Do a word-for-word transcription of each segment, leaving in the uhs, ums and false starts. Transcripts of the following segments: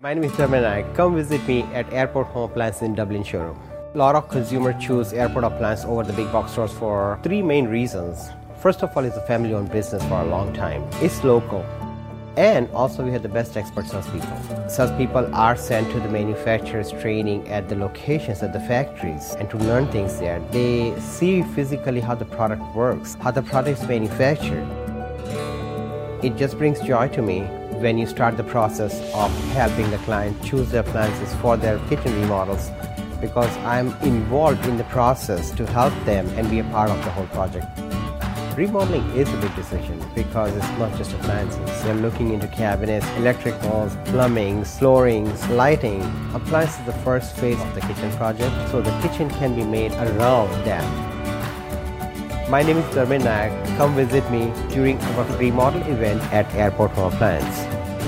My name is Dharmen Naik. Come visit me at Airport Home Appliance in Dublin showroom. A lot of consumers choose Airport Appliance over the big box stores for three main reasons. First of all, it's a family-owned business for a long time. It's local. And also we have the best expert salespeople. Salespeople are sent to the manufacturers training at the locations, at the factories, and to learn things there. They see physically how the product works, how the product is manufactured. It just brings joy to me when you start the process of helping the client choose their appliances for their kitchen remodels, because I'm involved in the process to help them and be a part of the whole project. Remodeling is a big decision because it's not just appliances. You're looking into cabinets, electricals, plumbing, flooring, lighting. Appliance is the first phase of the kitchen project, so the kitchen can be made around that. My name is Dharmen Naik. Come visit me during our remodel event at Airport Home Appliance.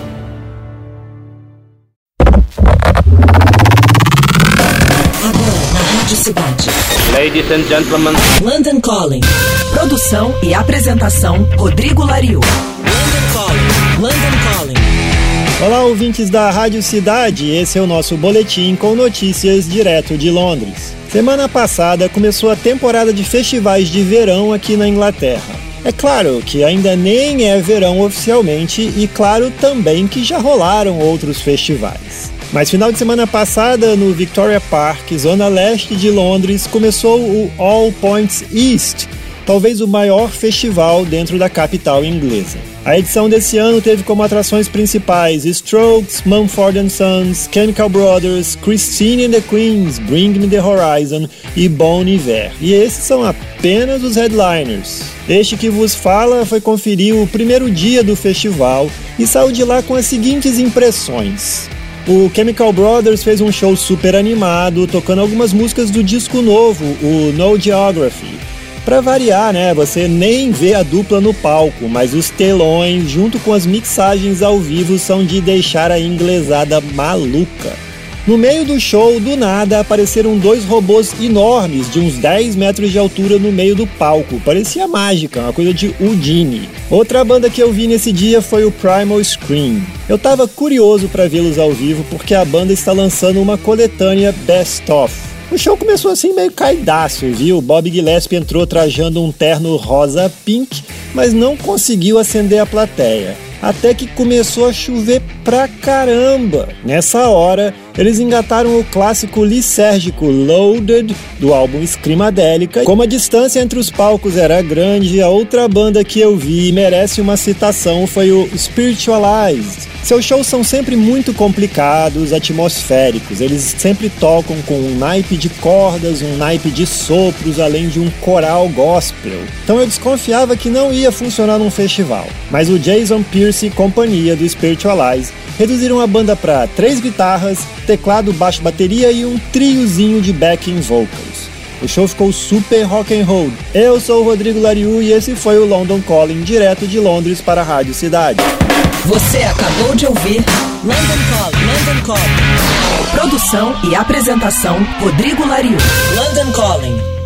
Agora na Rádio Cidade. Ladies and gentlemen. London Calling. Produção e apresentação Rodrigo Lariu. London Calling. London Calling. Olá, ouvintes da Rádio Cidade. Esse é o nosso boletim com notícias direto de Londres. Semana passada começou a temporada de festivais de verão aqui na Inglaterra. É claro que ainda nem é verão oficialmente e claro também que já rolaram outros festivais. Mas final de semana passada, no Victoria Park, zona leste de Londres, começou o All Points East, talvez o maior festival dentro da capital inglesa. A edição desse ano teve como atrações principais Strokes, Mumford and Sons, Chemical Brothers, Christine and the Queens, Bring Me the Horizon e Bon Iver. E esses são apenas os headliners. Este que vos fala foi conferir o primeiro dia do festival e saiu de lá com as seguintes impressões. O Chemical Brothers fez um show super animado, tocando algumas músicas do disco novo, o No Geography. Pra variar, né, você nem vê a dupla no palco, mas os telões, junto com as mixagens ao vivo, são de deixar a inglesada maluca. No meio do show, do nada, apareceram dois robôs enormes, de uns dez metros de altura no meio do palco. Parecia mágica, uma coisa de Houdini. Outra banda que eu vi nesse dia foi o Primal Scream. Eu tava curioso pra vê-los ao vivo, porque a banda está lançando uma coletânea Best Of. O show começou assim meio caidaço, viu? Bob Gillespie entrou trajando um terno rosa pink, mas não conseguiu acender a plateia. Até que começou a chover pra caramba. Nessa hora, eles engataram o clássico lisérgico Loaded, do álbum Screamadelica. Como a distância entre os palcos era grande, a outra banda que eu vi e merece uma citação foi o Spiritualized. Seus shows são sempre muito complicados, atmosféricos. Eles sempre tocam com um naipe de cordas, um naipe de sopros, além de um coral gospel. Então eu desconfiava que não ia funcionar num festival. Mas o Jason Pierce e companhia do Spiritualize reduziram a banda para três guitarras, teclado, baixo, bateria e um triozinho de backing vocals. O show ficou super rock and roll. Eu sou o Rodrigo Lariu e esse foi o London Calling, direto de Londres para a Rádio Cidade. Você acabou de ouvir London Calling. London Calling. Produção e apresentação Rodrigo Lariu. London Calling.